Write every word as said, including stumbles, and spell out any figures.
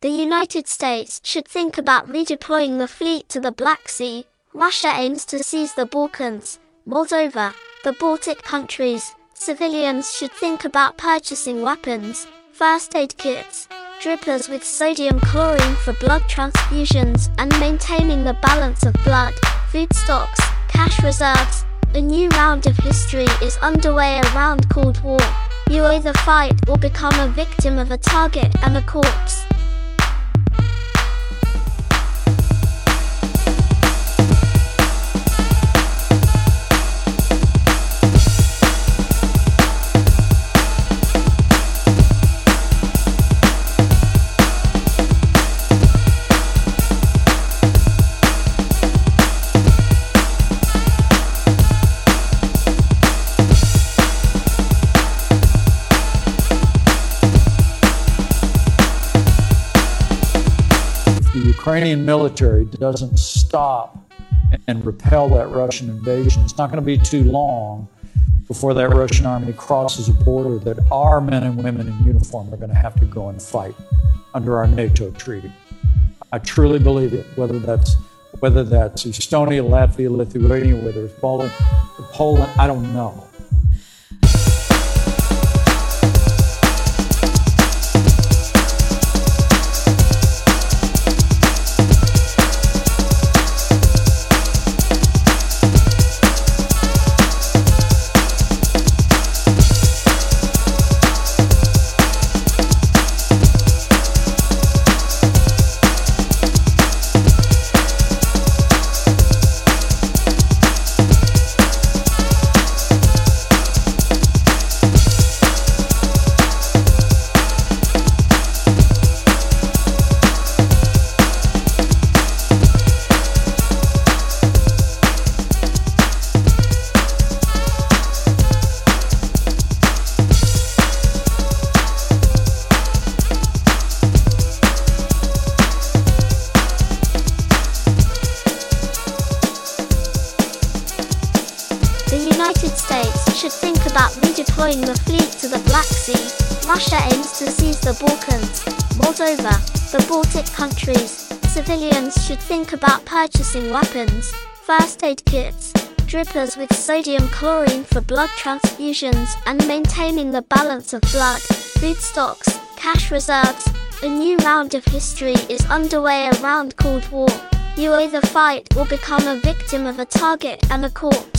The United States should think about redeploying the fleet to the Black Sea. Russia aims to seize the Balkans, Moldova, the Baltic countries. Civilians should think about purchasing weapons, first aid kits, drippers with sodium chlorine for blood transfusions, and maintaining the balance of blood, food stocks, cash reserves. A new round of history is underway around Cold War. You either fight or become a victim of a target and a corpse. The Ukrainian military doesn't stop and repel that Russian invasion, it's not going to be too long before that Russian army crosses a border that our men and women in uniform are going to have to go and fight under our NATO treaty. I truly believe it, whether that's whether that's Estonia, Latvia, Lithuania, whether it's Poland, Poland, I don't know. The United States should think about redeploying the fleet to the Black Sea. Russia aims to seize the Balkans, Moldova, the Baltic countries. Civilians should think about purchasing weapons, first aid kits, drippers with sodium chlorine for blood transfusions, and maintaining the balance of blood, food stocks, cash reserves. A new round of history is underway around Cold War. You either fight or become a victim of a target and a corpse.